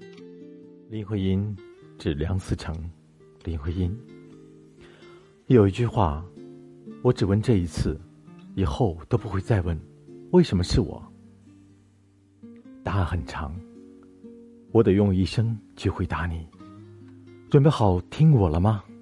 林徽因致梁思成。林徽因有一句话，我只问这一次，以后都不会再问，为什么是我？答案很长，我得用一生去回答你。准备好听我了吗？